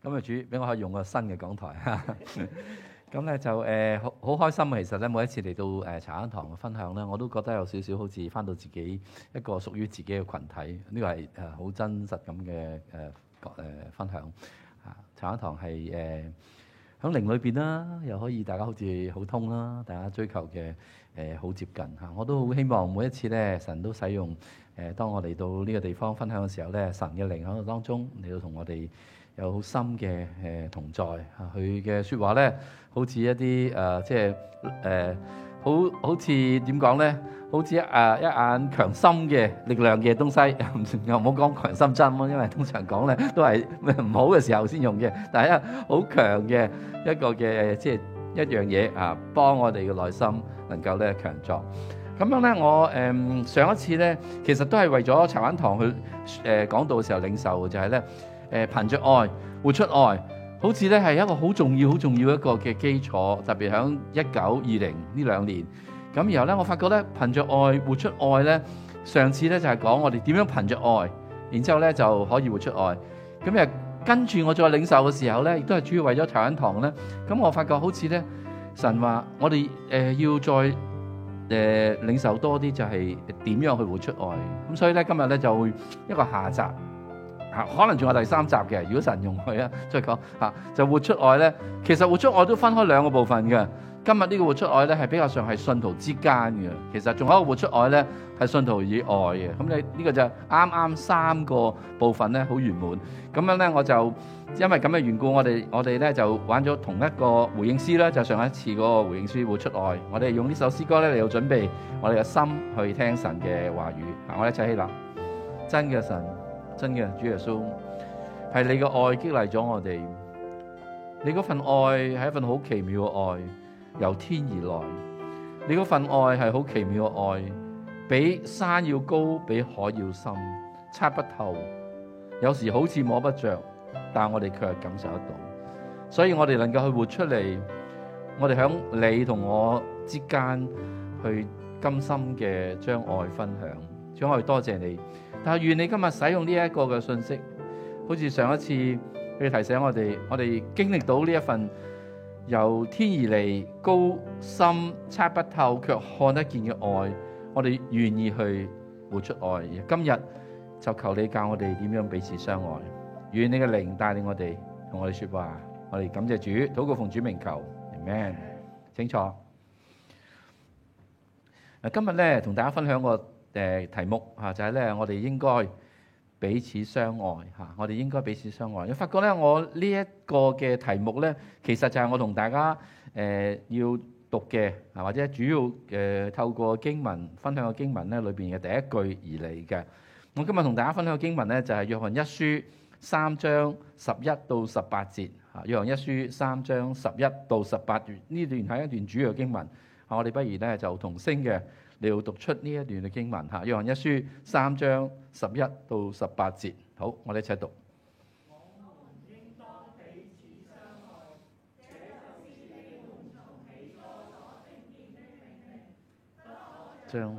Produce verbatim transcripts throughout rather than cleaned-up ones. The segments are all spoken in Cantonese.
咁啊主俾我可以用個新嘅講台嚇。咁咧就誒好好開心啊！其實咧每一次嚟到誒茶香堂嘅分享咧，我都覺得有少少好似翻到自己一個屬於自己嘅群體。呢個係誒好真實咁嘅誒誒分享啊！茶香堂係誒喺靈裏邊啦，又可以大家好似好通啦，大家追求嘅誒好接近嚇。我都好希望每一次咧，神都使用誒，當我嚟到呢個地方分享嘅時候咧，神嘅靈喺度當中嚟到同我哋有好深嘅誒同在嚇。佢嘅説話咧，好似一啲誒即係誒好好似點講咧？好似誒一眼強心嘅力量嘅東西，又唔好講強心針咯，因為通常講咧都係唔好嘅時候先用嘅。但係一好強嘅一個嘅即係一樣嘢啊，幫我哋嘅內心能夠咧強壯。咁樣咧，我誒、嗯、上一次咧，其實都係為咗茶灣堂去誒講道嘅時候領受嘅，就係咧誒憑着愛活出愛，好似咧係一個好重要、好重要一個嘅基礎，特別喺一九二零呢兩年。咁然後咧，我發覺咧憑着愛活出愛咧，上次咧就係講我哋點樣憑着愛，然之後咧就可以活出愛。咁誒跟住我再領受嘅時候咧，亦都係主要為咗茶灣堂咧。咁我發覺好似咧神話我哋誒、呃、要再誒、呃、領受多啲，就係點樣去活出愛。咁所以咧今日咧就會一個下集嚇，可能仲有第三集嘅。如果神容許啊，再講嚇就活出愛咧。其實活出愛都分開兩個部分嘅。今日呢個活出愛咧係比較上係信徒之間嘅，其實仲有一個活出愛咧係信徒以外嘅。咁你呢個就啱啱三個部分咧好圓滿。咁樣咧我就因為咁嘅緣故，我哋我哋咧就玩咗同一個回應詩啦，就上一次嗰個回應詩活出愛。我哋用呢首詩歌咧嚟到準備我哋嘅心去聽神嘅話語。嗱，我哋一齊起立。真嘅神，真嘅主耶穌，係你嘅愛激勵咗我哋。你嗰份愛係一份好奇妙嘅愛。由天而來，你嗰份愛係好奇妙嘅愛，比山要高，比海要深，測不透，有時好似摸不着，但我哋卻感受得到。所以我哋能夠去活出嚟，我哋響你同我之間去甘心嘅將愛分享。主，我哋多謝你，但係願你今日使用呢一個嘅信息，好似上一次你提醒我哋，我哋經歷到呢一份由天而嚟高深測不透卻看得見嘅愛，我哋願意去活出愛。今日就求你教我哋點樣彼此相愛，願你嘅靈帶領我哋同我哋說話。我哋感謝主，禱告奉主名求 Amen。 請坐。今日咧同大家分享個誒題目嚇，就係咧我哋應該彼此相愛嚇，我哋應該彼此相愛。我發覺咧，我呢一個嘅題目咧，其實就係我同大家誒、呃、要讀嘅啊，或者主要誒、呃、透過經文分享嘅經文咧裏邊嘅第一句而嚟嘅。我今日同大家分享嘅經文咧，就係約翰一書三章十一到十八節嚇。約翰一書三章十一到十八段，呢段係一段主要嘅經文。啊，我哋不如咧就同聲嘅。你要讀出呢一段嘅經文嚇，約翰一書三章十一到十八節。好，我哋一齊讀。我們應當彼此相愛，這就是你們從起初所聽見的命令。將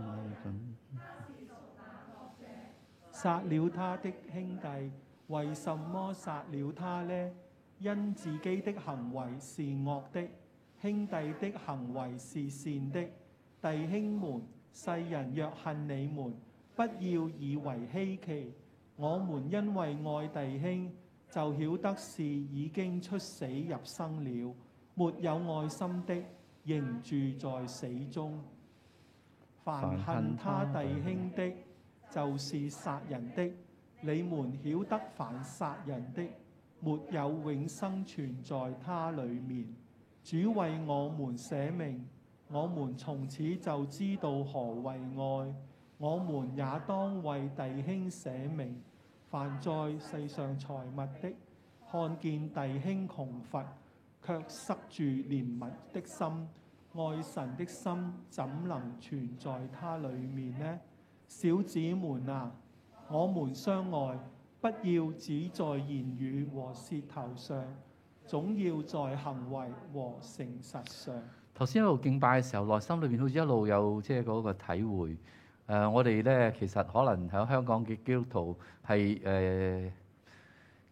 殺了他的兄弟，為什麼殺了他呢？因自己的行為是惡的，兄弟的行為是善的。弟兄們，世人若恨你們，不要以為稀奇。我們因為愛弟兄，就曉得是已經出死入生了。沒有愛心的，仍住在死中。凡恨他弟兄的，就是殺人的。你們曉得，凡殺人的，沒有永生存在他裏面。主為我們捨命。我們從此就知道何為愛，我們也當為弟兄捨命。凡在世上財物的，看見弟兄窮乏，卻塞住憐憫的心，愛神的心怎能存在他裏面呢？小子們啊，我們相愛，不要只在言語和舌頭上，總要在行為和誠實上。 頭先一路敬拜嘅時候，內心裏邊好似一路有即係嗰個體會。誒、呃，我哋咧其實可能喺香港嘅基督徒係誒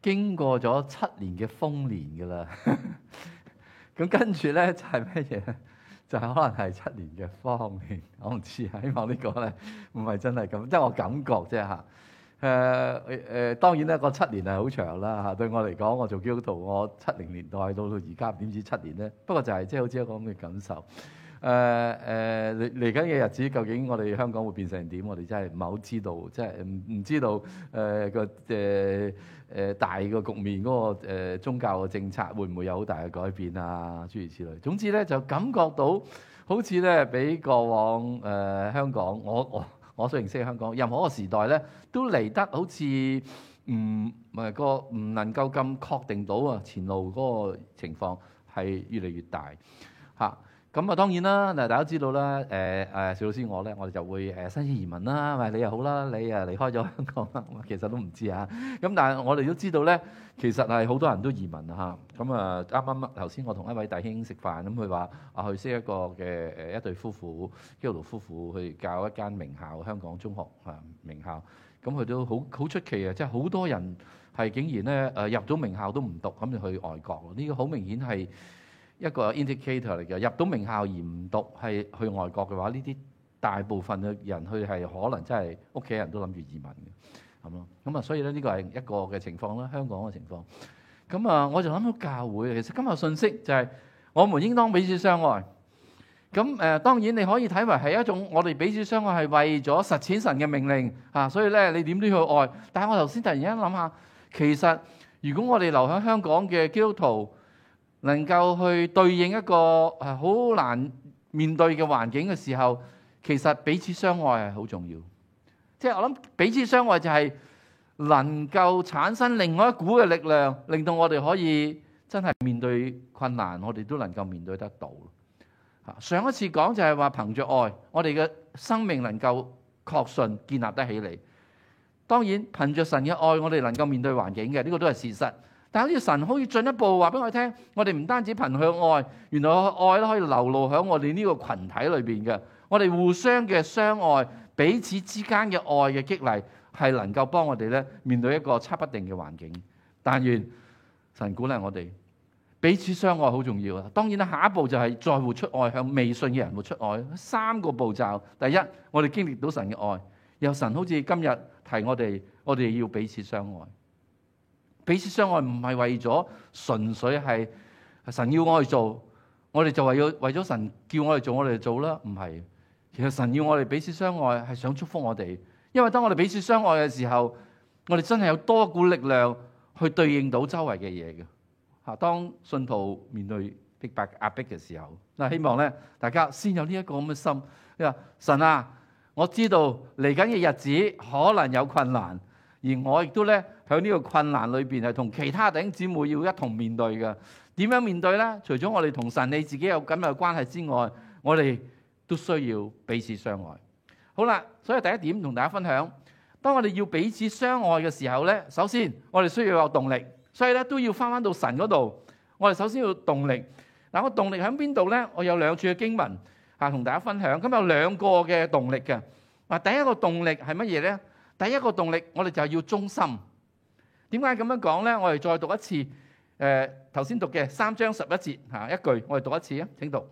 經過咗七年嘅豐年㗎啦。咁跟住咧就係咩嘢？就係可能係七年嘅荒年。我唔知啊，希望呢個咧唔係真係咁，即係我感覺啫嚇。誒誒誒，當然咧個七年係好長啦嚇。對我嚟講，我做基督徒，我七零年代到到而家點知七年咧？不過就係即係好似一個咁嘅感受。誒誒嚟嚟緊嘅日子，究竟我哋香港會變成點？我哋真係唔係好知道，即係唔唔知道誒個誒誒大個局面嗰個誒宗教嘅政策會唔會有好大嘅改變啊？諸如此類。總之咧，就感覺到好似咧比過往誒香港，我我。我所認識嘅香港，任何一個時代咧，都嚟得好似唔誒個唔能夠咁確定到啊前路嗰個情況係越嚟越大嚇。咁啊當然啦，嗱大家都知道啦，誒誒邵老師我咧，我哋就會誒申請移民啦，咪你又好啦，你啊離開咗香港啦，其實都唔知啊。咁但係我哋都知道咧，其實係好多人都移民啊嚇。咁啊啱啱頭先我同一位弟兄食飯，咁佢話啊佢識一個嘅誒一對夫婦，基督徒夫婦去教一間名校，香港中學啊名校。咁佢都好好出奇啊，即係好多人係竟然咧誒入咗名校都唔讀，咁就去外國。呢個好明顯係一個 indicator 嚟嘅，入到名校而唔讀係去外國嘅話，呢啲大部分嘅人去係可能真係屋企人都諗住移民嘅，咁咯。咁啊，所以咧呢個係一個嘅情況啦，香港嘅情況。咁啊，我就諗到教會，其實今日信息就係我們應當彼此相愛。咁誒，當然你可以睇為係一種我哋彼此相愛係為咗實踐神嘅命令啊，所以咧你點都要去愛。但係我頭先突然間諗下，其實如果我哋留喺香港嘅基督徒，能夠去對應一個係好難面對嘅環境嘅時候，其實彼此相愛係好重要。即係我諗彼此相愛就係能夠產生另外一股嘅力量，令到我哋可以真係面對困難，我哋都能夠面對得到。上一次講就係話憑着愛，我哋嘅生命能夠確信建立得起嚟。當然憑着神嘅愛，我哋能夠面對環境嘅，呢個都係事實。但係好似神可以進一步話俾我哋聽，我哋唔單止憑向愛，原來愛都可以流露喺我哋呢個群體裏邊嘅。我哋互相嘅相愛，彼此之間嘅愛嘅激勵，係能夠幫我哋咧面對一個測不定嘅環境。但願神鼓勵我哋彼此相愛好重要啊！當然啦，下一步就係再活出愛，向未信嘅人活出愛。三個步驟，第一，我哋經歷到神嘅愛，由神好似今日提我哋，我哋要彼此相愛。彼此相愛唔係為咗純粹係神要我哋做，我哋就為咗為咗神叫我哋做，我哋就做啦。唔係，其實神要我哋彼此相愛係想祝福我哋，因為當我哋彼此相愛嘅時候，我哋真係有多股力量去對應到周圍嘅嘢嘅。嚇，當信徒面對逼迫壓迫嘅時候，嗱，希望咧大家先有呢一個咁嘅心。你話神啊，我知道嚟緊嘅日子可能有困難，而我亦都咧喺呢個困難裏邊係同其他弟兄姊妹要一同面對嘅。點樣面對咧？除咗我哋同神你自己有緊密嘅關係之外，我哋都需要彼此相愛。好啦，所以第一點同大家分享，當我哋要彼此相愛嘅時候咧，首先我哋需要有動力，所以咧都要翻翻到神嗰度。我哋首先要動力。嗱，個動力喺邊度咧？我有兩處嘅經文嚇同大家分享。咁有兩個嘅動力嘅。嗱，第一個動力係乜嘢咧？第一個動力我哋就係要忠心。點解咁樣講咧？我哋再讀一次。誒頭先讀嘅三章十一節嚇一句，我哋讀一次啊！請讀。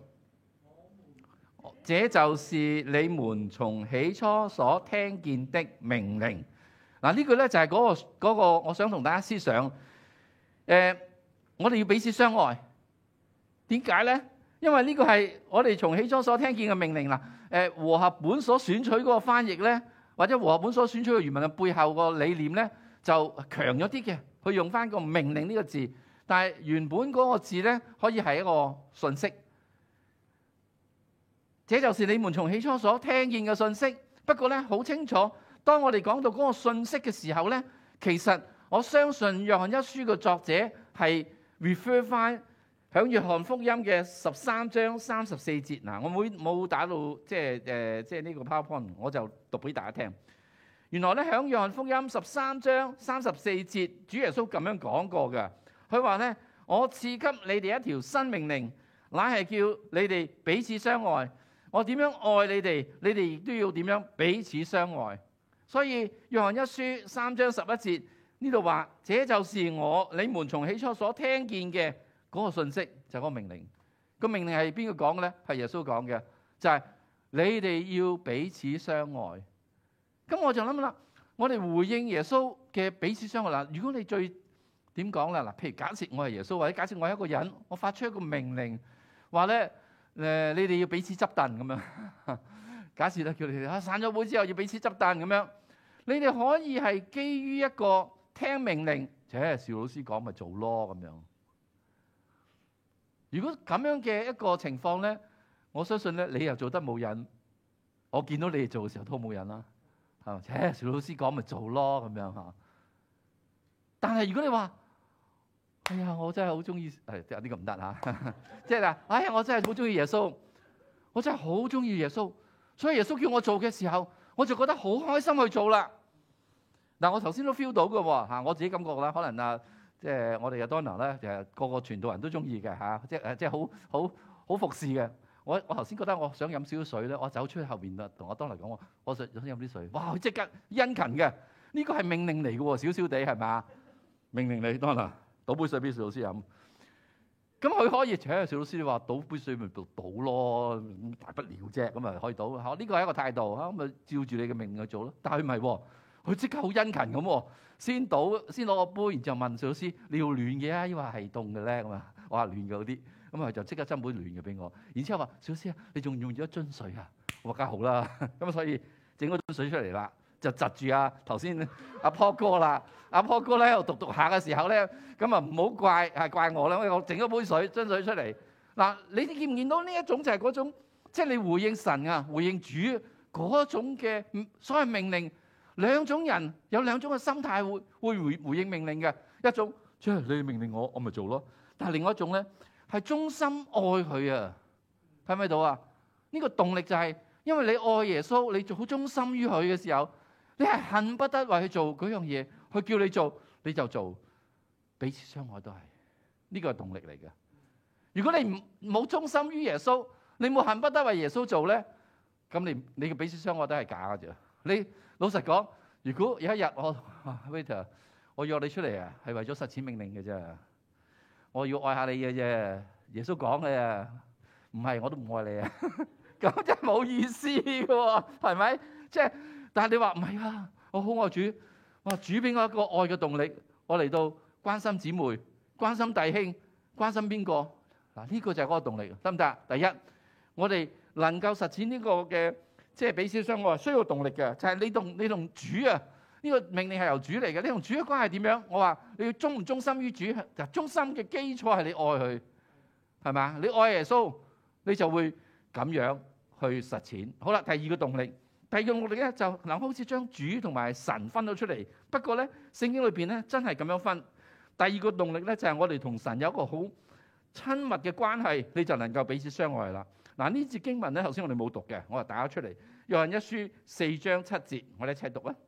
這就是你們從起初所聽見的命令。嗱，呢句咧就係嗰個嗰個，我想同大家思想。誒，我哋要彼此相愛。點解咧？因為呢個係我哋從起初所聽見嘅命令啦。誒，和合本所選取嗰個翻譯咧，或者和合本所選取嘅原文嘅背後個理念咧，就強咗啲嘅，去用翻個命令呢個字。但係原本嗰個字咧，可以係一個訊息。這就是你們從起初所聽見嘅訊息。不過咧，好清楚，當我哋講到嗰個訊息嘅時候咧，其實我相信約翰一書嘅作者係 refer 翻響約翰福音嘅十三章三十四節。嗱，我冇冇打到即係誒即係呢個 PowerPoint，我就讀俾大家聽。原來咧響約翰福音十三章三十四節，主耶穌咁樣講過嘅。佢話咧：我賜給你哋一條新命令，乃係叫你哋彼此相愛。我點樣愛你哋，你哋亦都要點樣彼此相愛。所以約翰一書三章十一節呢度話，這就是我你們從起初所聽見嘅嗰個信息，就係嗰個命令。個命令係邊個講嘅咧？係耶穌講嘅，就係你哋要彼此相愛。咁我就諗啦，我哋回應耶穌嘅彼此相愛啦。如果你最點講啦？嗱，譬如假設我係耶穌，或者假設我係一個人，我發出一個命令，話咧誒，你哋要彼此執凳咁樣。假設咧叫你哋啊散咗會之後要彼此執凳咁樣，你哋可以係基於一個聽命令，即係邵老師講咪做咯咁樣。如果咁樣嘅一個情況咧，我相信咧你又做得冇癮，我見到你哋做嘅時候都冇癮啦，係嘛？誒，邵老師講咪做咯咁樣嚇。但係如果你話，哎呀，我真係好中意，誒呢個唔得嚇，即係嗱，哎呀，我真係好中意耶穌，我真係好中意耶穌，所以耶穌叫我做嘅時候，我就覺得好開心去做啦。嗱，我頭先都 feel 到嘅喎嚇，我自己感覺啦，可能啊。即係我哋嘅 Donna 咧，就係個個傳道人都中意嘅嚇，即係誒，即係好好好服侍嘅。我我頭先覺得我想飲少少水咧，我走出去後邊啦，同我 Donna 講我，我想想飲啲水。哇！佢即刻殷勤嘅，呢個係命令嚟嘅喎，少少地係嘛？命令你 Donna 倒杯水俾邵老師飲。咁佢可以請邵老師話倒杯水咪倒倒咯，大不了啫，咁啊可以倒。嚇，呢個係一個態度嚇，咁咪照住你嘅命令去做咯。但係佢唔係喎，佢即刻好殷勤咁喎。先倒，先攞個杯，然之後問邵老師：你要暖嘅啊，抑或係凍嘅咧？咁啊，我話暖嘅好啲，咁啊就即刻斟杯暖嘅俾我。然之後話：邵老師啊，你仲用咗一樽水啊？我話梗係好啦，咁所以整嗰樽水出嚟啦，就窒住啊頭先阿 Paul 哥啦。阿 Paul 哥咧喺度讀讀下嘅時候咧，咁啊唔好怪係怪我啦，因為我整咗杯水樽水出嚟。嗱，你哋見唔見到呢一種就係嗰種，即係你回應神啊，回應主嗰種嘅所謂命令。兩種人有兩種嘅心態會會回回應命令嘅，一種即係你命令我，我咪做咯。但係另外一種咧係忠心愛佢啊，睇唔睇到啊？呢個動力就係因為你愛耶穌，你做好忠心於佢嘅時候，你係恨不得為佢做嗰樣嘢，佢叫你做你就做，彼此相愛都係呢個係動力嚟嘅。如果你唔冇忠心於耶穌，你冇恨不得為耶穌做咧，咁你你嘅彼此相愛都係假嘅啫。你老實講，如果有一日我啊 waiter， 我約你出嚟啊，係為咗實踐命令嘅啫。我要愛下你嘅啫，耶穌講嘅啊，唔係我都唔愛你啊。咁真係冇意思嘅喎，係咪？即係，但係你話唔係啊，我好愛主，我主俾我一個愛嘅動力，我嚟到關心姊妹、關心弟兄、關心邊個嗱？呢個就係嗰個動力，得唔得？第一，我哋能夠實踐呢個嘅。即係彼此相愛需要動力嘅，就係、是、你同你同主啊，呢、這個命令係由主嚟嘅。你同主嘅關係點樣？我話你要忠唔忠心於主，就忠心嘅基礎係你愛佢，係咪？你愛耶穌，你就會咁樣去實踐。好啦，第二個動力，第二個動力咧就嗱，好似將主同埋神分咗出嚟。不過咧，聖經裏邊咧真係咁樣分。第二個動力咧就係、是、我哋同神有一個好親密嘅關係，你就能夠彼此相愛啦。嗱，呢節經文咧，頭先我哋冇讀嘅，我就打咗出嚟。約翰一書四章七節，我哋一齊讀啊！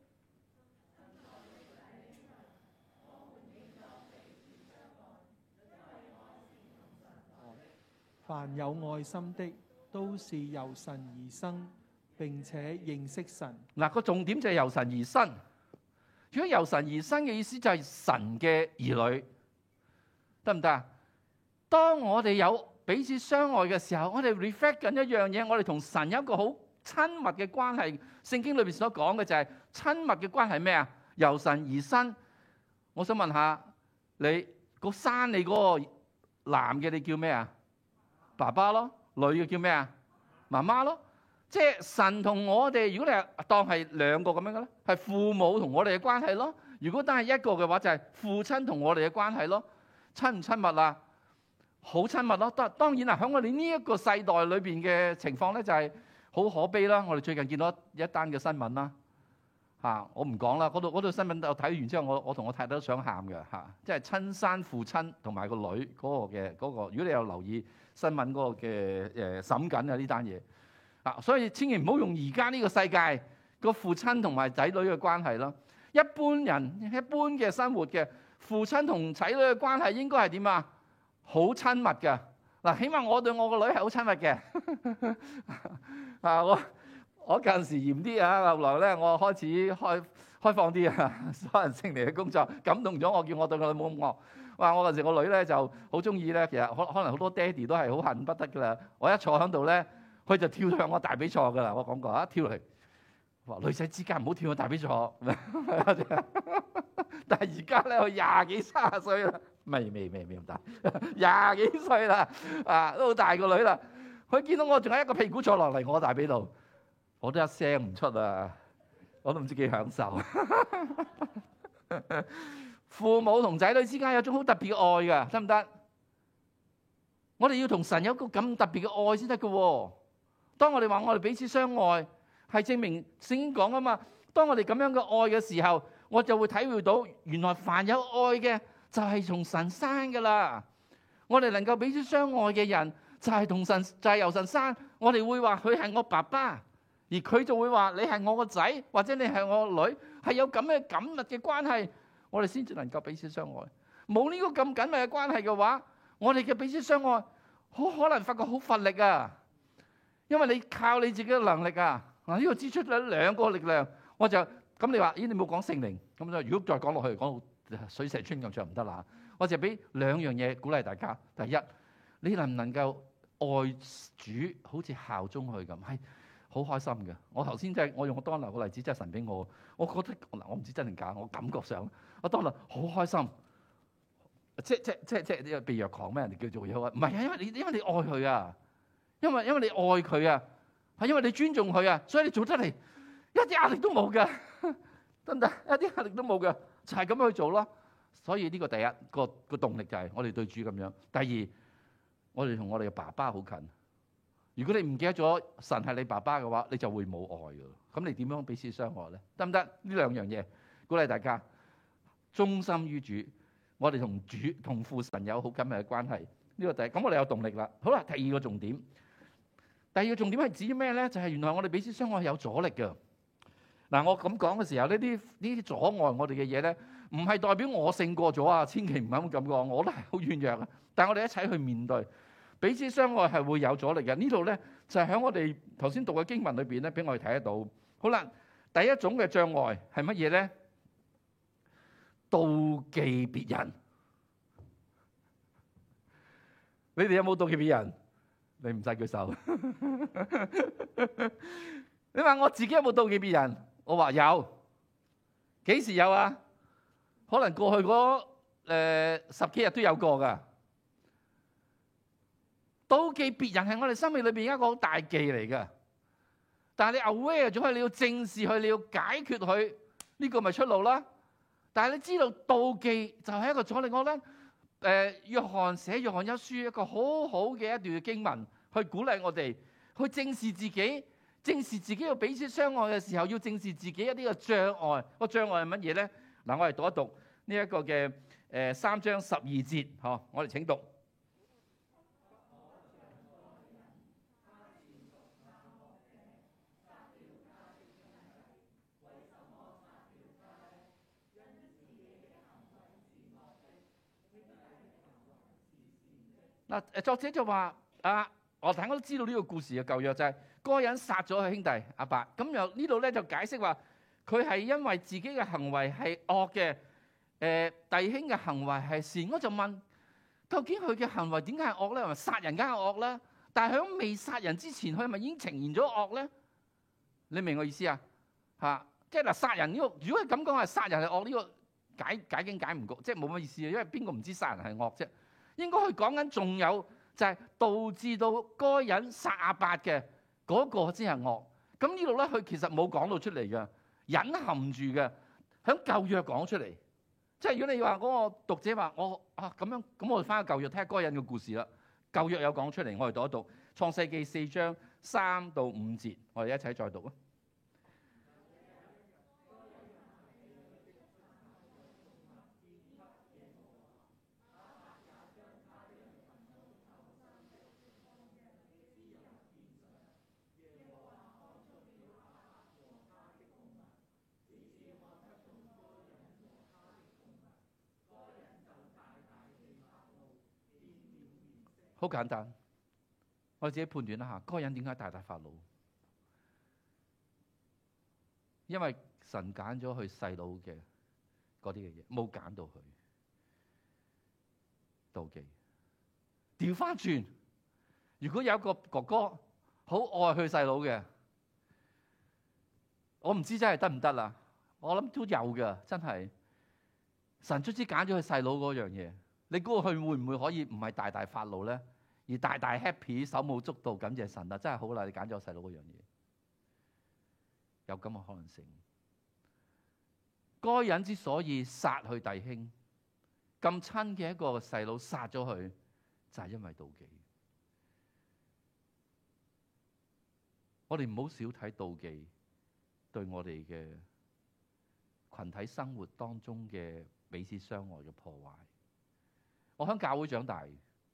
凡有愛心的，都是由神而生，並且認識神。 嗱，個重點就係由神而生。如果由神而生嘅意思就係神嘅兒女，得唔得啊？當我哋有彼此相愛嘅時候，我哋 reflect 緊一樣嘢，我哋同神有一個好親密嘅關係。聖經裏邊所講嘅就係親密嘅關係咩啊？由神而生。我想問下你，個生你嗰個男嘅你叫咩啊？爸爸咯。女嘅叫咩啊？媽媽咯。即係神同我哋，如果你係當係兩個咁樣嘅咧，係父母同我哋嘅關係咯。如果單係一個嘅話，就係父親同我哋嘅關係咯。親唔親密啊？好親密咯。當當然啦，喺我哋呢一個世代裏邊嘅情況咧，就係好可悲啦。我哋最近見到一單嘅新聞啦，嚇我唔講啦。嗰度嗰度新聞我睇完之後，我我同我太太都想喊嘅嚇，即係親生父親同埋個女嗰個嘅嗰個。如果你有留意新聞嗰個嘅誒審緊啊呢單嘢啊，所以千祈唔好用而家呢個世界個父親同埋仔女嘅關係咯。一般人一般嘅生活嘅父親同仔女嘅關係應該係點啊？好親密嘅嗱，起碼我對我個女係好親密嘅啊！我我近時嚴啲啊，後來咧我開始開開放啲啊！所有人聖靈嘅工作感動咗我，叫我對個女冇咁惡。哇！我嗰時個女咧就好中意咧，其實可可能好多爹哋都係好恨不得噶啦。我一坐喺度咧，佢就跳向我大髀坐噶啦。我講過啊，跳落嚟。話女仔之間唔好跳去大髀坐。但係而家咧，佢廿幾三十歲啦，未未未未咁大，廿幾歲啦，啊都好大個女啦。佢見到我仲有一個屁股坐落嚟我大髀度，我都一聲唔出啊！我都唔知幾享受。父母同仔女之間有種好特別嘅愛㗎，得唔得？我哋要同神有個咁特別嘅愛先得㗎。當我哋話我哋彼此相愛，係證明聖經講啊嘛。當我哋咁樣嘅愛嘅時候，我就會體會到原來凡有愛嘅就係從神生㗎啦。我哋能夠彼此相愛嘅人就係同神，就係由神生。我哋會話佢係我爸爸。而佢就會話你係我個仔，或者你係我個女，係有咁嘅緊密嘅關係，我哋先至能夠彼此相愛。冇呢個咁緊密嘅關係嘅話，我哋嘅彼此相愛好可能發覺好乏力啊！因為你靠你自己嘅能力啊，嗱、這、呢個支出咗兩個力量，我就咁你話，咦你冇講聖靈，咁就如果再講落去，講到水蛇春咁就唔得啦。我就俾兩樣嘢鼓勵大家。第一，你能唔能夠愛主，好似效忠佢咁？係。好開心嘅，我頭先真係我用我當日個例子，真係神俾我，我覺得嗱，我唔知真定假，我感覺上我當日好開心，即即即即呢個被虐狂咩？人哋叫做嘢啊？唔係啊，因為你因為你愛佢啊，因為因為你愛佢啊，係因為你尊重佢啊，所以你做出嚟一啲壓力都冇嘅，得唔得？一啲壓力都冇嘅，就係咁樣去做咯。所以呢個第一個個動力就係我哋對主咁樣。第二，我哋同我哋嘅爸爸好近。如果你唔記得咗神係你爸爸嘅話，你就會冇愛㗎。咁你點樣彼此相愛咧？得唔得？呢兩樣嘢鼓勵大家忠心於主。我哋同主同父神有好緊密嘅關係。呢個第一，咁我哋有動力啦。好啦，第二個重點，第二個重點係指咩咧？就係原來我哋彼此相愛係有阻力㗎。嗱，我咁講嘅時候，呢啲呢啲阻礙我哋嘅嘢咧，唔係代表我勝過咗啊！千祈唔好咁講，我都係好軟弱啊。但係我哋一齊去面對。彼此相愛係會有阻力嘅。呢度咧就係喺我哋頭先讀嘅經文裏邊咧，俾我哋睇得到。好啦，第一種嘅障礙係乜嘢咧？妒忌別人。你哋有冇妒忌別人？你唔使舉手。你話我自己有冇妒忌別人？我話有。幾時有啊？可能過去嗰誒十幾日都有過㗎。妒忌別人係我哋生命裏邊一個好大忌嚟嘅，但係你 aware 咗佢，你要正視佢，你要解決佢，呢個咪出路啦。但係你知道妒忌就係一個阻力。我覺得誒約翰寫約翰一書一個好好嘅一段經文，去鼓勵我哋去正視自己，正視自己要彼此相愛嘅時候，要正視自己一啲嘅障礙。個障礙係乜嘢咧？嗱，我哋讀一讀呢一個嘅誒三章十二節，嗬，我哋請讀。嗱，作者就話啊，我大家都知道呢個故事嘅舊約就係嗰個人殺咗佢兄弟亞伯，咁又呢度咧就解釋話佢係因為自己嘅行為係惡嘅，誒、呃、弟兄嘅行為係善。我就問，究竟佢嘅行為點解係惡咧？係咪殺人梗係惡啦？但係喺未殺人之前，佢係咪已經呈現咗惡咧？你明我意思啊？嚇，即係嗱，殺人呢、這個，如果係咁講係殺人係惡呢、這個解解經解唔過，即係冇乜意思啊，因為邊個唔知殺人係惡啫？應該佢講緊仲有就係導致到該人殺亞伯嘅嗰個先係惡。咁呢度咧，佢其實冇講到出嚟嘅，隱含住嘅，喺舊約講出嚟。即係如果你話嗰個讀者話我啊咁樣，咁我哋翻去舊約睇下該人嘅故事啦。舊約有講出嚟，我哋讀一讀創世記四章三到五節，我哋一齊再讀啊。好簡單，我自己判斷一下，嗰個人點解大大發怒？因為神揀咗佢細佬嘅嗰啲嘅嘢，冇揀到佢。妒忌。調翻轉，如果有一個哥哥好愛佢細佬嘅，我唔知真係得唔得啦。我諗都有㗎，真係。神卒之揀咗佢細佬嗰樣嘢，你估佢會唔會可以唔係大大發怒咧，而大大 happy 手舞足蹈感謝神啊！真係好啦，你揀咗我細佬嗰樣嘢，有咁嘅可能性。該人之所以殺佢弟兄，咁親嘅一個細佬殺咗佢，就係因為妒忌。我哋唔好少睇妒忌對我哋嘅群體生活當中嘅彼此相愛嘅破壞。我喺教會長大，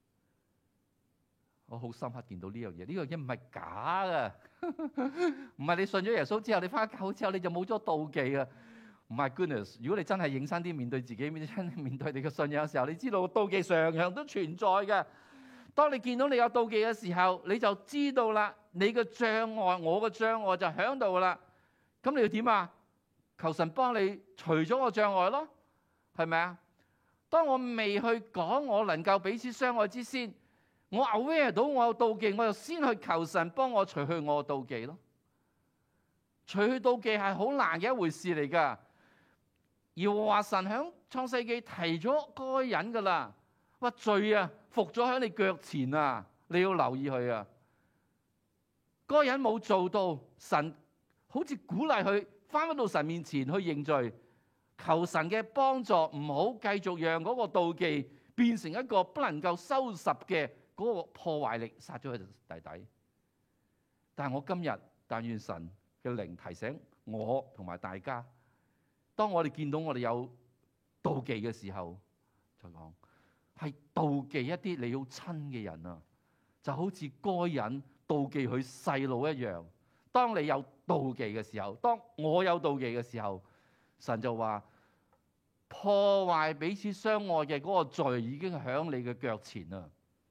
我好深刻見到呢樣嘢。呢樣嘢唔係假嘅，唔係你信咗耶穌之後，你翻教會之後你就冇咗妒忌啊！唔係 goodness， 如果你真係認真啲面對自己，面面對你嘅信仰嘅時候，你知道妒忌常常都存在嘅。當你見到你有妒忌嘅時候，你就知道啦，你嘅障礙，我嘅障礙就喺度啦。咁你要點啊？求神幫你除咗個障礙咯，係咪啊？當我未去講我能夠彼此相愛之先，我 aware 到我有妒忌，我就先去求神幫我除去我嘅妒忌咯。除去妒忌係好難嘅一回事嚟㗎。而話神喺創世記提咗該隱㗎啦，話罪啊伏咗喺你腳前啊，你要留意佢啊。該隱冇做到，神好似鼓勵佢翻返到神面前去認罪，求神嘅幫助，唔好繼續讓嗰個妒忌變成一個不能夠收拾嘅嗰個破壞力，殺咗佢弟弟。但係我今日但願神嘅靈提醒我同埋大家，當我哋見到我哋有妒忌嘅時候，就講係妒忌一啲你要親嘅人啊，就好似該隱妒忌佢細佬一樣。當你有妒忌嘅時候，當我有妒忌嘅時候，神就話破壞彼此相愛嘅嗰個罪已經喺你嘅腳前啦。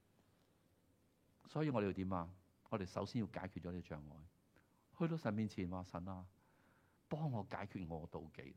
所以我哋要點啊？我哋首先要解決咗呢個障礙，去到神面前話神啊，幫我解決我嘅妒忌。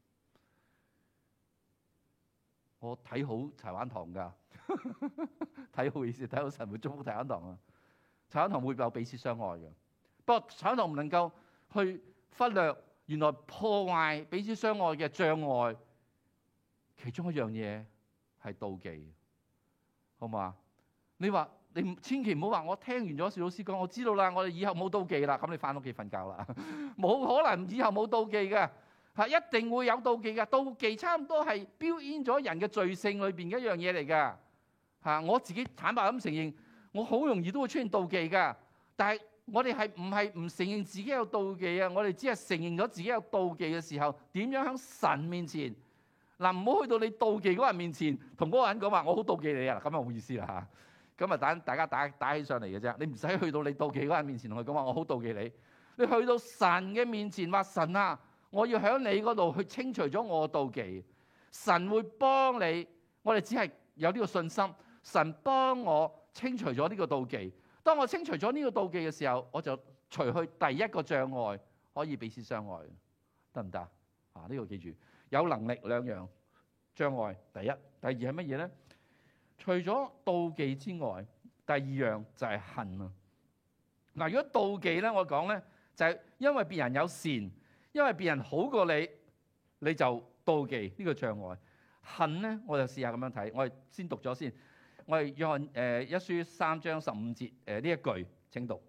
我睇好柴灣堂㗎，睇好意思，睇好神會祝福柴灣堂啊！柴灣堂會有彼此相愛嘅，不過柴灣堂唔能夠去忽略原來破壞彼此相愛嘅障礙，其中一樣嘢係妒忌，好嘛？你話你千祈唔好話我聽完咗邵老師講，我知道啦，我哋以後冇妒忌啦，咁你翻屋企瞓覺啦，冇可能以後冇妒忌嘅。係一定會有妒忌嘅，妒忌差唔多係標籤咗人嘅罪性裏邊嘅一樣嘢嚟㗎。嚇，我自己坦白咁承認，我好容易都會出現妒忌㗎。但係我哋係唔係唔承認自己有妒忌啊？我哋只係承認咗自己有妒忌嘅時候，點樣喺神面前嗱？唔好去到你妒忌嗰個人面前，同嗰個人講話我好妒忌你啊！咁就冇意思啦嚇。咁啊打大家打打起上嚟嘅啫。你唔使去到你妒忌嗰個人面前同佢講話我好妒忌你。你去到神嘅面前話神啊！我要喺你嗰度去清除咗我嘅妒忌，神會幫你。我哋只係有呢個信心，神幫我清除咗呢個妒忌。當我清除咗呢個妒忌嘅時候，我就除去第一個障礙，可以彼此相愛，得唔得啊？呢、這個記住，有能力兩樣障礙。第一、第二係乜嘢咧？除咗妒忌之外，第二樣就係恨啊。嗱，如果妒忌咧，我講咧就係、是、因為別人有善。因為別人好過你，你就妒忌呢個障礙。恨咧，我就試下咁樣睇。我哋先讀咗先。我哋約翰誒一書三章十五節誒呢一句，請讀。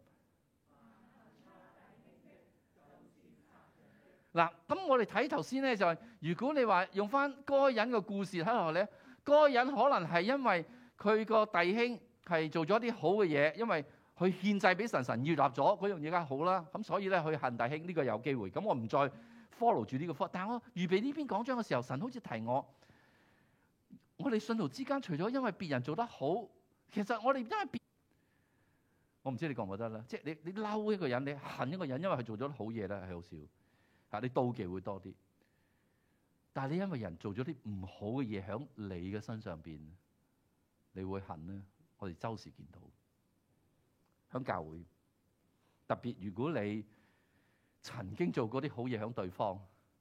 嗱，咁我哋睇頭先咧就係、是，如果你話用翻該隱嘅故事睇落咧，該隱可能係因為佢個弟兄係做咗啲好嘅嘢，因為佢獻祭俾神，神悅納咗嗰樣嘢，梗係好啦。咁所以咧，佢恨弟兄呢個有機會。咁我唔再 follow 住呢個科。但係我預備呢篇講章嘅時候，神好似提我，我哋信徒之間除咗因為別人做得好，其實我哋因為別，我唔知你覺唔覺得啦。即係你你嬲一個人，你恨一個人，因為佢做咗好嘢咧，係好少。嚇，你妒忌會多啲。但係你因為人做咗啲唔好嘅嘢喺你嘅身上邊，你會恨咧。我哋周時見到。喺教會，特別如果你曾經做過啲好嘢喺對方，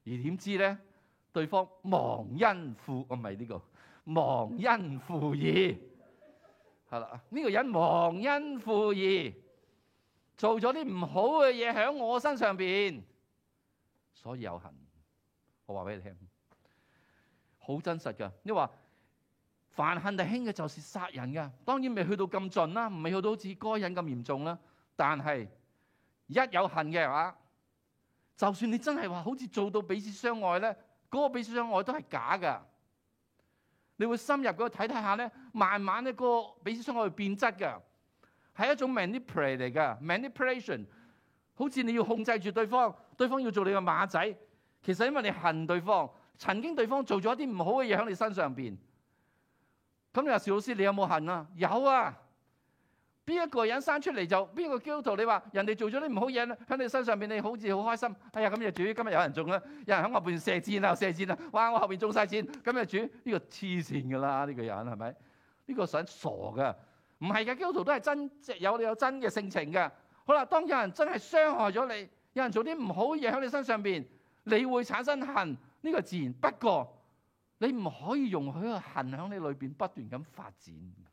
點知咧，對方忘恩負，我唔係呢個忘恩負義，係啦，呢個人忘恩負義，做咗啲唔好嘅嘢喺我身上邊，所以有恨。我話俾你聽，好真實噶。你話凡恨弟兄嘅，就是殺人噶。當然未去到咁盡啦，唔係去到好似該隱咁嚴重啦。但係一有恨嘅話，就算你真係話好似做到彼此相愛咧，嗰個彼此相愛都係假噶。你會深入嗰個睇睇下咧，慢慢咧嗰個彼此相愛會變質噶，係一種 manipulate 嚟噶 manipulation。好似你要控制住對方，對方要做你嘅馬仔。其實因為你恨對方，曾經對方做咗一啲唔好嘅嘢喺你身上邊。咁你話邵老師，你有冇恨啊？有啊。邊一個人生出嚟就邊個基督徒？你話人哋做咗啲唔好嘢喺你身上邊，你好似好開心。哎呀，咁就主今日有人中啦，有人喺後邊射箭啊，射箭啊！哇，我後邊中晒箭，咁就主呢個黐線噶啦，呢個人係咪？呢個想傻噶？唔係嘅，基督徒都係真有有真嘅性情嘅。好啦，當有人真係傷害咗你，有人做啲唔好嘢喺你身上邊，你會產生恨，呢個自然。不過你唔可以容許個恨喺你裏邊不斷咁發展。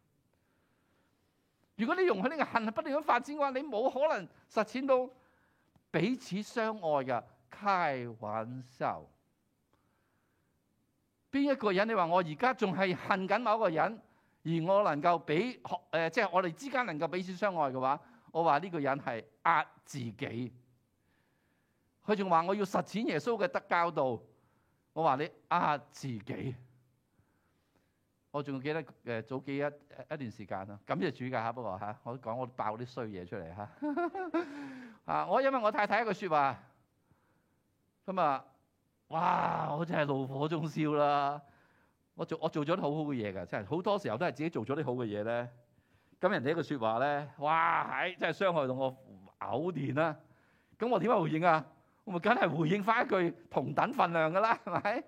如果你容許呢個恨係不斷咁發展嘅話，你冇可能實踐到彼此相愛嘅。開玩笑，邊一個人你話我而家仲係恨緊某一個人，而我能夠俾誒即係我哋之間能夠彼此相愛嘅話，我話呢個人係呃自己。佢仲話我要實踐耶穌嘅得教導，我話你呃自己。我仲記得誒早幾一一段時間啦，感謝主㗎嚇。不過嚇，我講我爆啲衰嘢出嚟嚇。啊，我因為我太太一句説話，咁啊，哇！我真係怒火中燒啦。我做我做咗啲好好嘅嘢㗎，真係好多時候都係自己做咗啲好嘅嘢咧。咁人哋一句説話咧，哇！係真係傷害到我嘔電啦。咁我點樣回應啊？我咪梗係回應翻一句同等份量㗎啦，係咪？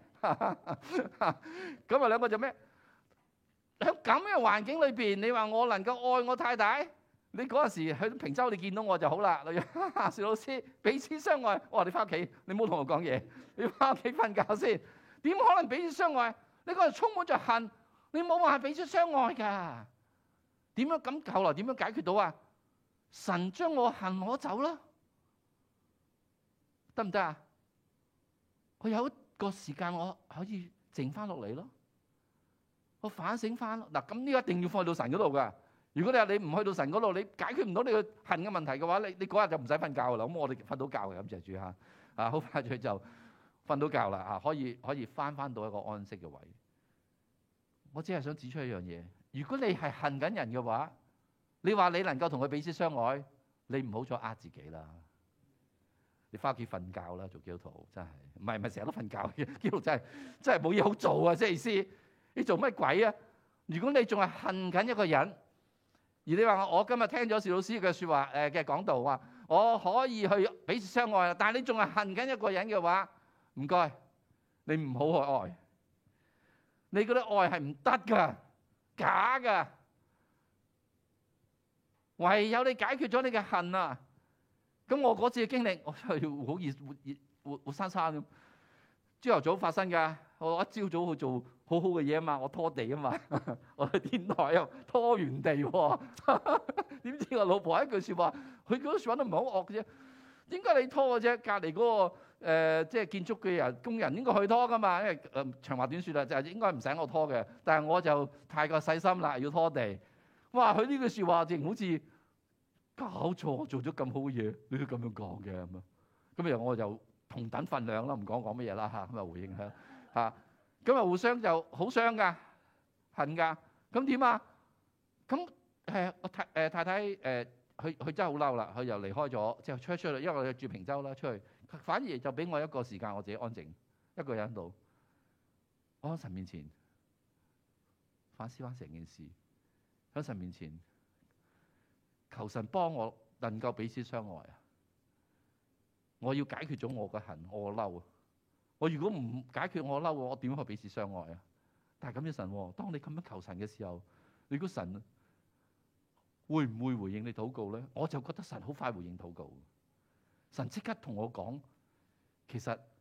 咁啊兩個就咩？喺咁嘅環境裏邊，你話我能夠愛我太太？你嗰陣時去平洲，你見到我就好啦。例如邵老師彼此相愛，我話你翻屋企，你唔好同我講嘢，你翻屋企瞓覺先。點可能彼此相愛？你嗰陣充滿着恨，你冇話彼此相愛㗎。點樣咁後來點樣解決到啊？神將我恨攞走啦，得唔得啊？佢有一個時間我可以靜翻落嚟咯。我反省翻嗱，咁呢個一定要放到神嗰度噶。如果你話你唔去到神嗰度，你解決唔到你個恨嘅問題嘅話，你你嗰日就唔使瞓覺噶啦。咁我哋瞓到覺嘅，感謝主嚇啊，好快脆就瞓到覺啦啊，可以可以翻翻到一個安息嘅位。我只係想指出一樣嘢，如果你係恨緊人嘅話，你話你能夠同佢彼此相愛，你唔好再呃自己啦。你翻屋企瞓覺啦，做基督徒真係唔係唔係成日都瞓覺嘅，基督徒真係真係冇嘢好做啊！即係意思。你做乜鬼啊？如果你仲係恨緊一個人，而你話我今日聽咗邵老師嘅説話誒嘅講道話，我可以去彼此相愛啦，但係你仲係恨緊一個人嘅話，唔該，你唔好去愛。你嗰啲愛係唔得㗎，假㗎。唯有你解決咗你嘅恨啊！咁我嗰次嘅經歷，我真係好熱活熱活活生生咁。朝頭早發生㗎，我一朝早去做好好嘅嘢啊嘛，我拖地啊嘛，我去天台又拖完地喎，點知我老婆一句説話，佢嗰句説話都唔係好惡嘅啫。點解你拖嘅啫？隔離嗰個誒即係建築嘅人工人應該去拖㗎嘛，因為誒長話短説啦，就係應該唔使我拖嘅，但係我就太過細心啦，要拖地。哇！佢呢句説話淨好似搞錯，我做咗咁好嘅嘢，你都咁樣講嘅咁啊？咁然後我就同等份量啦，唔講講乜嘢啦嚇，咁啊回應下嚇。咁啊互相就好傷噶，恨噶。咁點啊？咁誒我太誒太太誒，佢佢真係好嬲啦，佢又離開咗，之後出出去，因為我住平洲啦，出去反而就俾我一個時間，我自己安靜一個人喺度，我喺神面前反思翻成件事，喺神面前求神幫我能夠彼此相愛啊！我要解決咗我嘅恨，我嘅嬲啊！我如果唔解決我嬲，我點去彼此相愛啊？但係咁嘅神，當你咁樣求神嘅時候，你估神會唔會回應你禱告咧？我就覺得神好快回應禱告。神即刻同我講，其實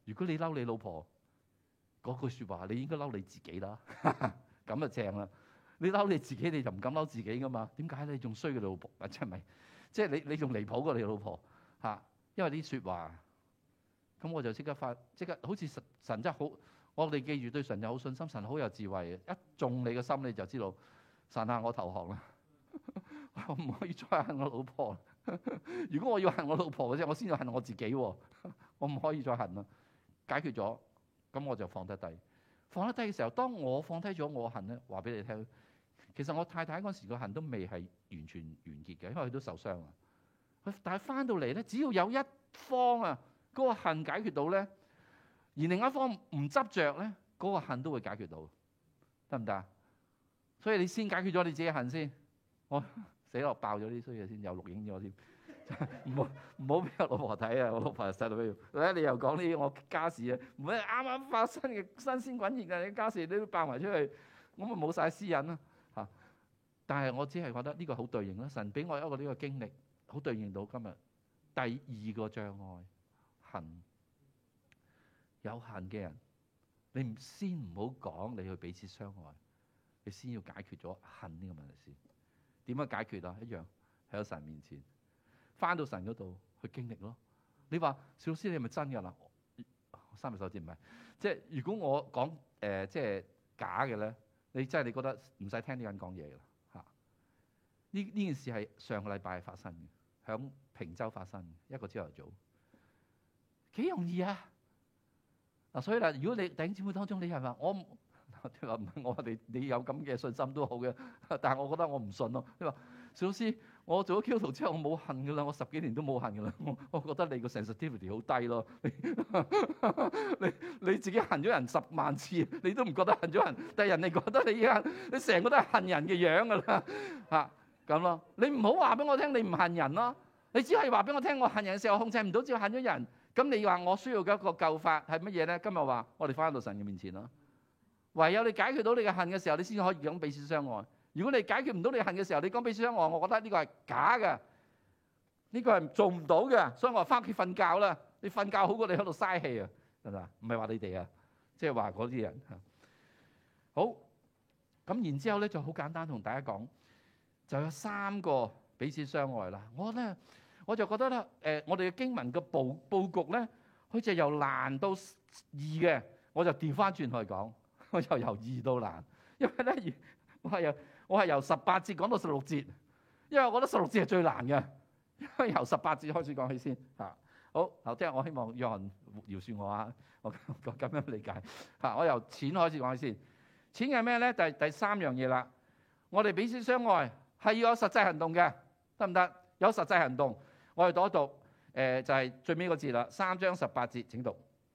如果你嬲你老婆嗰句説話，你應該嬲你自己啦，咁就正啦。你嬲你自己，你就唔敢嬲自己噶嘛？點解你仲衰過你老婆？啊，即係咪？即係你你仲離譜過你老婆嚇？因為啲説話，咁我就即刻發，即刻好似神神真係好，我哋記住對神有好信心，神好有智慧嘅。一中你嘅心，你就知道神啊，我投降啦，我唔可以再恨我老婆。如果我要恨我老婆嘅啫，我先要恨我自己喎，我唔可以再恨啦。解決咗，咁我就放得低。放得低嘅時候，當我放低咗我恨咧，話俾你聽，其實我太太嗰時個恨都未係完全完結嘅，因為佢都受傷啊。但係翻到嚟咧，只要有一方啊嗰個恨解決到咧，而另一方唔執着咧，嗰個恨都會解決到，得唔得啊？所以你先解決咗你自己恨先。我死落爆咗啲衰嘢先，又錄影咗添。唔好唔好俾我老婆睇啊！我老婆又細到咩？你又講呢啲我家事啊？唔係啱啱發生嘅新鮮滾熱嘅家事，你都爆埋出去，我咪冇晒私隱啦嚇。但係我只係覺得呢個好對應啦。神俾我一個呢個經歷，好對應到今日第二個障礙恨。有恨嘅人，你唔先唔好講你去彼此相愛，你先要解決咗恨呢個問題先。點樣解決啊？一樣喺神面前。翻到神嗰度去經歷咯。你話小老師你係咪真㗎啦？三隻手指唔係，即係如果我講誒、呃、即係假嘅咧，你真係你覺得唔使聽呢個人講嘢㗎啦嚇。呢呢件事係上個禮拜發生嘅，響平洲發生嘅一個朝頭早，幾容易啊！嗱，所以啦，如果你弟兄姊妹當中你係話我，你話唔係我話你你有咁嘅信心都好嘅，但係我覺得我唔信咯。你話小老師，我做咗基督徒之後我冇恨噶啦，我十幾年都冇恨噶啦。我我覺得你個 sensitivity 好低咯。你你你自己恨咗人十萬次，你都唔覺得恨咗人，但係人哋覺得你恨，你成個都係恨人嘅樣噶啦嚇咁咯。你唔好話俾我聽你唔恨人咯，你只係話俾我聽我恨人嘅時候我控制唔到，只係恨咗人。咁你話我需要嘅一個救法係乜嘢咧？今日話我哋翻到神嘅面前咯。唯有你解決到你嘅恨嘅時候，你先可以講彼此相愛。如果你解決唔到你恨嘅時候，你講彼此相愛，我覺得呢個係假嘅，呢個係做唔到嘅。所以我話翻屋企瞓覺啦，你瞓覺好過你喺度嘥氣啊，係咪啊？唔係話你哋啊，即係話嗰啲人嚇。好，咁然之後咧就好簡單同大家講，就有三個彼此相愛啦。我咧我就覺得咧，誒，我哋嘅經文嘅佈佈局咧，好似由難到易嘅，我就調翻轉去講，我就由易到難，因為咧我係由我係由十八節講到十六節，因為我覺得十六節係最難嘅，因為由十八節開始講起先嚇。好，頭先我希望約翰饒恕我啊，我我咁樣理解嚇。我由錢開始講起先，錢係咩咧？第第三樣嘢啦，我哋彼此相愛係要有實際行動嘅，得唔得？有實際行動，我哋讀一讀，誒、呃、就係、是、最尾嗰節啦，三章十八節請讀。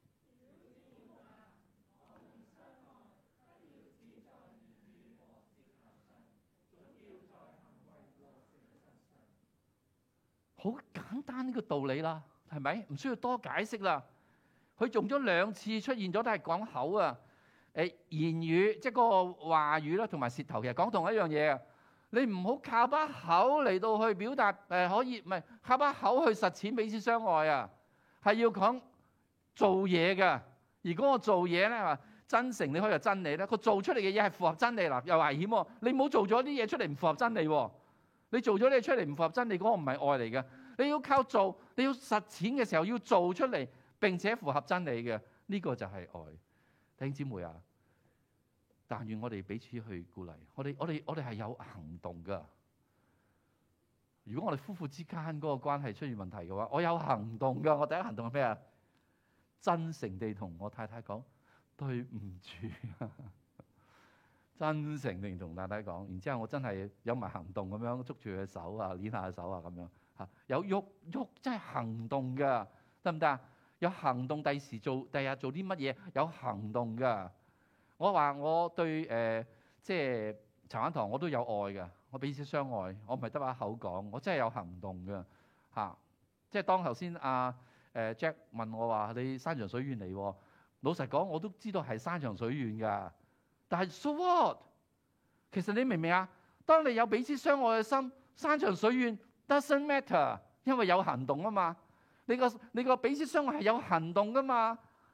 好簡單呢個道理啦，係咪？唔需要多解釋啦。佢用咗兩次出現咗，都係講口啊。誒言語即係嗰個話語啦，同埋舌頭其實講同一樣嘢啊。你唔好靠把口嚟到去表達，誒可以唔係靠把口去實踐彼此相愛啊，係要講做嘢㗎。而嗰個做嘢咧話真誠，你可以話真理咧。佢做出嚟嘅嘢係符合真理啦，又危險喎。你唔好做咗啲嘢出嚟唔符合真理喎。你做咗啲嘢出嚟唔符合真理，嗰個唔係愛嚟嘅。你要靠做，你要實踐嘅時候要做出嚟，並且符合真理嘅，呢個就係愛。弟兄姊妹啊，但願我哋彼此去鼓勵。我哋我哋我哋係有行動噶。如果我哋夫婦之間嗰個關係出現問題嘅話，我有行動噶。我第一行動係咩啊？真誠地同我太太講對唔住。真誠地同太太講，然之後我真係有埋行動咁樣捉住佢手啊，捏下手啊咁樣嚇，有喐喐真係行動噶，得唔得啊？有行動，第時做，第日做啲乜嘢？有行動噶。我話我對誒、呃，即係茶灣堂我都有愛嘅，我彼此相愛，我唔係得把口講，我真係有行動嘅嚇、啊。即係當頭先阿誒 Jack 問我話你山長水遠嚟喎，老實講我都知道係山長水遠㗎。但係 so what？ 其實你明唔明啊？當你有彼此相愛嘅心，山長水遠 doesn't matter， 因為有行動啊嘛。你個你個彼此相愛係有行動噶嘛。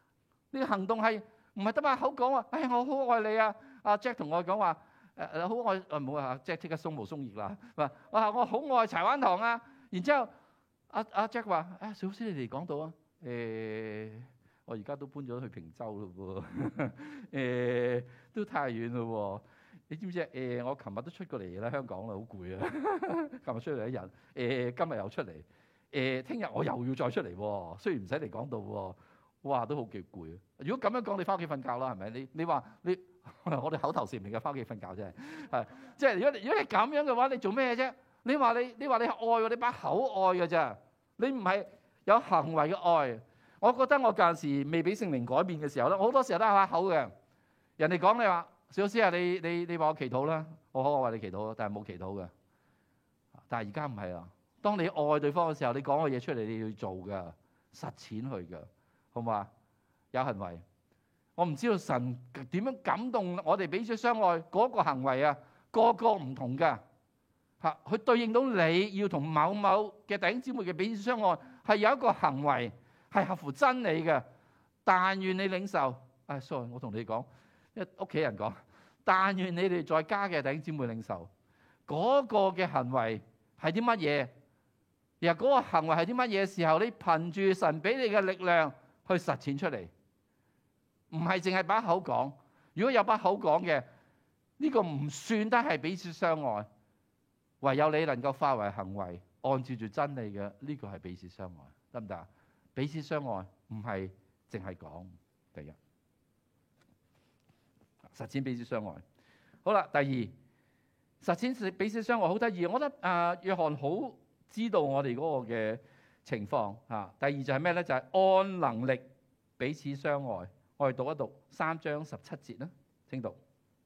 呢個行動係唔係得把口講話？哎呀，我好愛你啊！阿 Jack 同我講話誒誒，好愛誒，唔好啊 Jack 即刻鬆毛鬆翼啦。話哇，我好愛柴灣堂啊！然之後阿阿 Jack 話：啊，小師你哋講到啊，誒，我而家都搬咗去平洲咯喎，誒，都太遠咯喎。你知唔知誒，我琴日都出過嚟啦，香港啦，好攰啊！琴日出嚟一日，誒，今日又出嚟，誒，聽日我又要再出嚟喎。雖然唔使嚟講道喎，哇，都好幾攰啊！如果咁樣講，你翻屋企瞓覺啦，係咪？你你話你我哋口頭禪嚟嘅，翻屋企瞓覺啫，係即係如果如果係咁樣嘅話，你做咩啫？你話你你話你愛喎，你把口愛嘅咋？你唔係有行為嘅愛。我覺得我嗰陣時未俾聖靈改變嘅時候咧，我好多時候都係把口嘅。人哋講你話。小師啊，你你你話我祈禱啦，我好我為你祈禱，但係冇祈禱嘅。但係而家唔係啊，當你愛對方嘅時候，你講嘅嘢出嚟，你要做㗎，實踐去㗎，好唔好啊？有行為，我唔知道神點樣感動我哋彼此相愛嗰個行為啊，個個唔同㗎嚇，佢對應到你要同某某嘅弟兄姊妹嘅彼此相愛，係有一個行為係合乎真理嘅。但願你領受，唉 sorry， 我同你講。屋企人講，但願你哋在家嘅弟兄姊妹領受嗰個嘅行為係啲乜嘢？然後嗰個行為係啲乜嘢嘅時候，你憑住神俾你嘅力量去實踐出嚟，唔係淨係把口講。如果有把口講嘅，呢個唔算得係彼此相愛。唯有你能夠化為行為，按照住真理嘅，呢個係彼此相愛，得唔得啊？彼此相愛唔係淨係講。第一，實踐彼此相愛。好啦，第二，實踐彼此相愛好得意。我覺得啊、呃，約翰好知道我哋嗰個嘅情況嚇。第二就係咩咧？就係、是、按能力彼此相愛。我哋讀一讀三章十七節啦，請讀。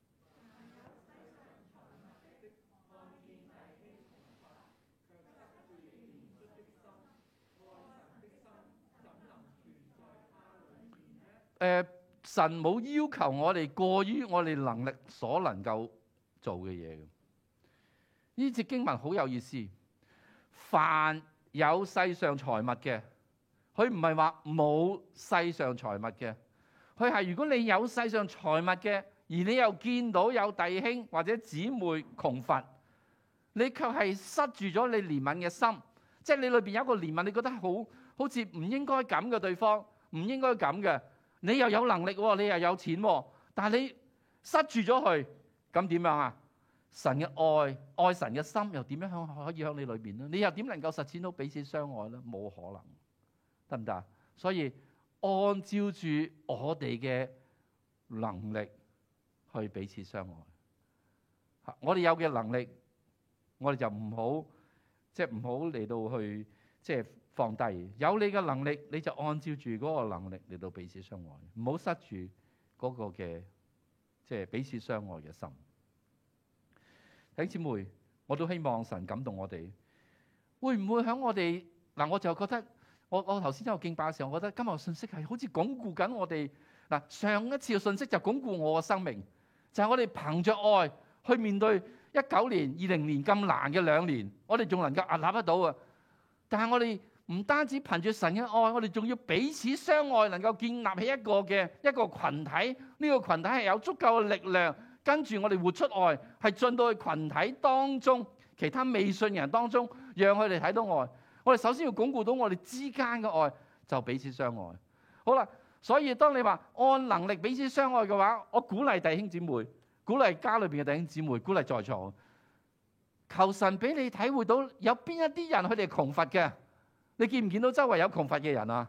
誒、呃。神冇要求我哋過於我哋能力所能夠做嘅嘢嘅。呢節經文好有意思。凡有世上財物嘅，佢唔係話冇世上財物嘅，佢係如果你有世上財物嘅，而你又見到有弟兄或者姊妹窮乏，你卻係塞住咗你憐憫嘅心，即係你裏邊有一個憐憫，你覺得好好似唔應該咁嘅對方，唔應該咁嘅。你又有能力喎，你又有錢喎，但係你塞住咗佢，咁點樣啊？神嘅愛，愛神嘅心又點樣可以喺你裏邊咧？你又點能夠實踐到彼此相愛咧？冇可能，得唔得？所以按照住我哋嘅能力去彼此相愛。我哋有嘅能力，我哋就唔好即係唔好嚟到去即係。放低，有你嘅能力，你就按照住嗰個能力嚟到彼此相愛，唔好塞住嗰個嘅即係彼此相愛嘅心。弟兄姊妹，我都希望神感動我哋，會唔會喺我哋嗱？我就覺得我我頭先有敬拜嘅時候，我覺得今日信息係好似鞏固緊我哋嗱。上一次嘅信息就鞏固我嘅生命，就係我哋憑着愛去面對一九年、二零年咁難嘅兩年，我哋仲能夠屹立得到啊！但係我哋唔單止憑住神嘅愛，我哋仲要彼此相愛，能夠建立起一個嘅一個群體。呢個群體係有足夠嘅力量，跟住我哋活出愛，係進到去群體當中，其他未信人當中，讓佢哋睇到愛。我哋首先要鞏固到我哋之間嘅愛，就彼此相愛。好啦，所以當你話按能力彼此相愛嘅話，我鼓勵弟兄姊妹，鼓勵家裏邊嘅弟兄姊妹，鼓勵在座，求神俾你體會到有邊一啲人佢哋係窮乏嘅。你見唔見到周圍有窮乏嘅人啊？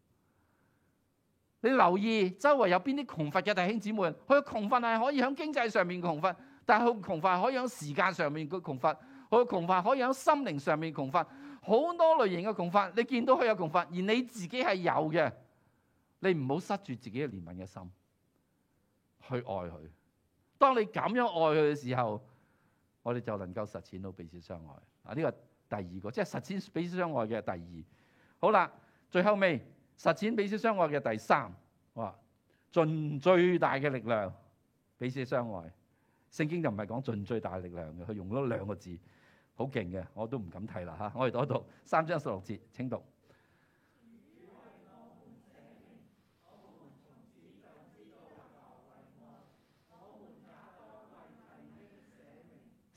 你留意周圍有邊啲窮乏嘅弟兄姊妹？佢嘅窮乏係可以喺經濟上面窮乏，但係佢窮乏可以喺時間上面嘅窮乏，佢嘅窮乏可以喺心靈上面窮乏，好多類型嘅窮乏。你見到佢有窮乏，而你自己係有嘅，你唔好塞住自己嘅憐憫嘅心去愛佢。當你咁樣愛佢嘅時候，我哋就能夠實踐到彼此相愛。啊，呢個第二個，即係實踐彼此相愛嘅第二。好啦，最後尾實踐彼此相愛嘅第三，哇！盡最大嘅力量彼此相愛。聖經就唔係講盡最大嘅力量嘅，佢用咗兩個字，好勁嘅，我都唔敢睇啦嚇。我哋讀一讀三章十六節，請讀。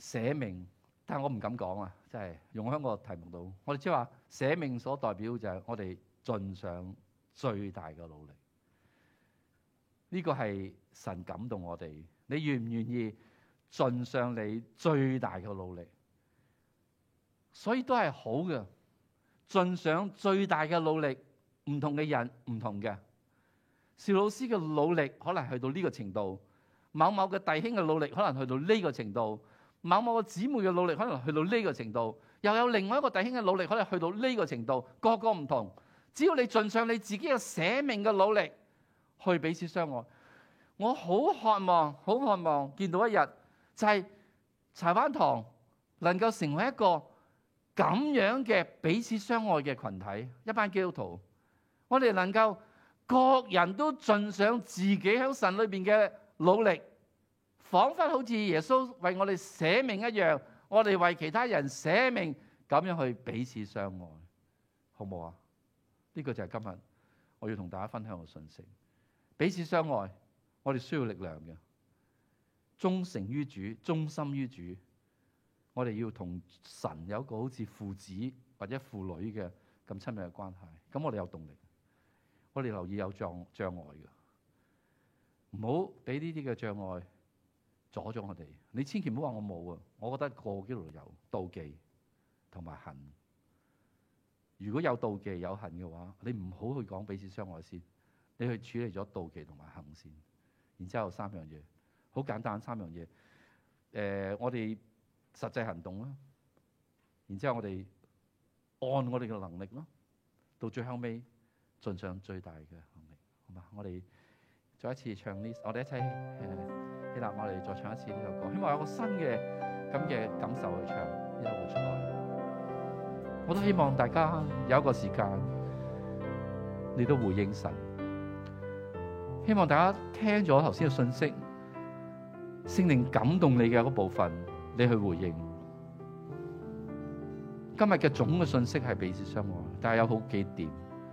捨命，但係我唔敢講啊，真係用喺個題目度。我哋即係話捨命所代表就係我哋盡上最大嘅努力。呢個係神感動我哋，你願唔願意盡上你最大嘅努力？所以都係好嘅，盡上最大嘅努力。唔同嘅人唔同嘅，邵老師嘅努力可能去到呢個程度，某某嘅弟兄嘅努力可能去到呢個程度，某某嘅姊妹嘅努力可能去到呢個程度，又有另外一個弟兄嘅努力可能去到呢個程度，個個唔同。只要你盡上你自己嘅捨命嘅努力去彼此相愛，我好渴望好渴望見到一日就係柴灣堂能夠成為一個咁樣嘅彼此相愛嘅群體，一班基督徒，我哋能夠各人都盡上自己喺神裏邊嘅努力，彷彿好似耶穌為我哋捨命一樣，我哋為其他人捨命，咁樣去彼此相愛，好唔好啊？呢個就係今日我要同大家分享嘅信息。彼此相愛，我哋需要力量嘅，忠誠於主，忠心於主。我哋要同神有一個好似父子或者父女嘅咁親密嘅關係，咁我哋有動力。我哋留意有障障礙嘅，唔好俾呢啲嘅障礙阻咗我哋。你千祈唔好話我冇啊！我覺得個個基督徒有妒忌同埋恨。如果有妒忌有恨嘅話，你唔好去講彼此相愛先，你去處理咗妒忌同埋恨先。然之後三樣嘢，好簡單三樣嘢。誒、呃，我哋實際行動啦。然之後我哋按我哋嘅能力咯，到最後尾。盡上最大嘅能力，好嘛？我哋再一次唱呢，我哋一齊誒，希臘，我哋再唱一次呢首歌，希望有個新嘅咁嘅感受去唱呢首活出來。我都希望大家有一個時間，你都回應神。希望大家聽咗頭先嘅信息，聖靈感動你嘅嗰部分，你去回應。今日嘅總嘅信息係彼此相愛，但係有好幾點。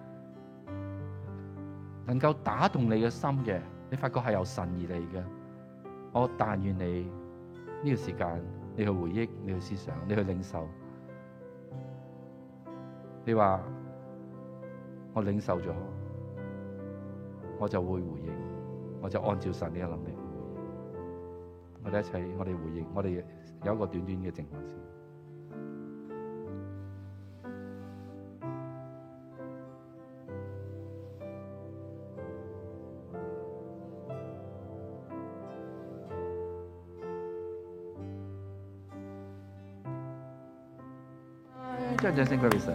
能夠打動你嘅心嘅，你發覺係由神而嚟嘅。我但願你呢個時間，你去回憶，你去思想，你去領受。你話我領受咗，我就會回應，我就按照神你嘅能力去回應。我哋一齊，我哋回應，我哋有一個短短嘅靜默先。將掌聲歸俾神。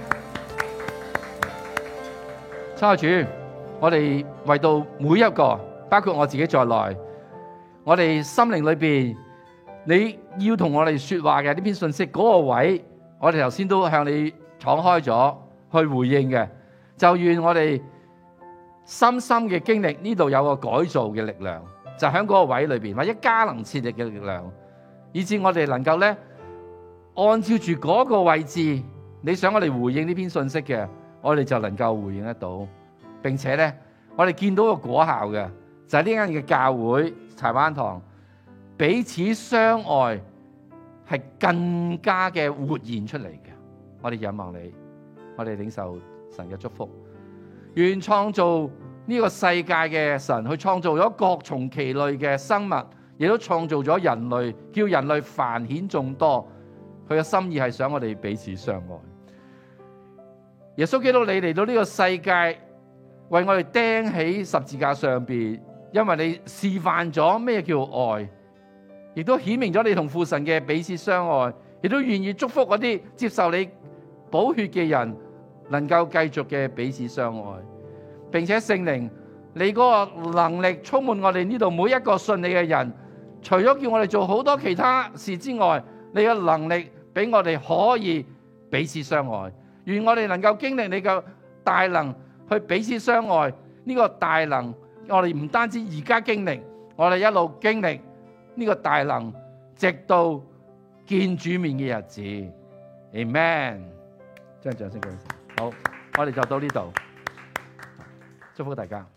親愛主，我哋為到每一個，包括我自己在內，我哋心靈裏邊，你要同我哋說話嘅呢篇信息嗰個位，我哋頭先都向你敞開咗去回應嘅。就願我哋深深嘅經歷呢度有個改造嘅力量，就喺嗰個位裏邊，或者加能設力嘅力量，以致我哋能夠咧。按照住嗰個位置，你想我哋回應呢篇信息嘅，我哋就能夠回應得到，並且咧，我哋見到個果效嘅，就係呢間嘅教會柴灣堂彼此相愛係更加嘅活現出嚟嘅。我哋仰望你，我哋領受神嘅祝福，願創造呢個世界嘅神去創造咗各從其類嘅生物，亦都創造咗人類，叫人類繁衍眾多。佢嘅心意係想我哋彼此相愛。耶穌基督，你嚟到呢個世界，為我哋釘喺十字架上邊，因為你示範咗咩叫愛，亦都顯明咗你同父神嘅彼此相愛，亦都願意祝福嗰啲接受你寶血嘅人，能夠繼續嘅彼此相愛，並且聖靈，你嗰個能力充滿我哋呢度每一個信你嘅人，除咗叫我哋做好多其他事之外，你嘅能力俾我哋可以彼此相愛，願我哋能夠經歷你嘅大能去彼此相愛。呢個大能我哋唔單止而家經歷，我哋一路經歷呢個大能，直到見主面嘅日子。Amen。將掌聲俾神。好，我哋就到呢度，祝福大家。